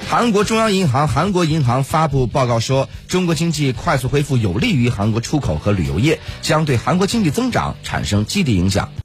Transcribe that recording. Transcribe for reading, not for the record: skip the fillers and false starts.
韩国中央银行韩国银行发布报告说，中国经济快速恢复有利于韩国出口和旅游业，将对韩国经济增长产生积极影响。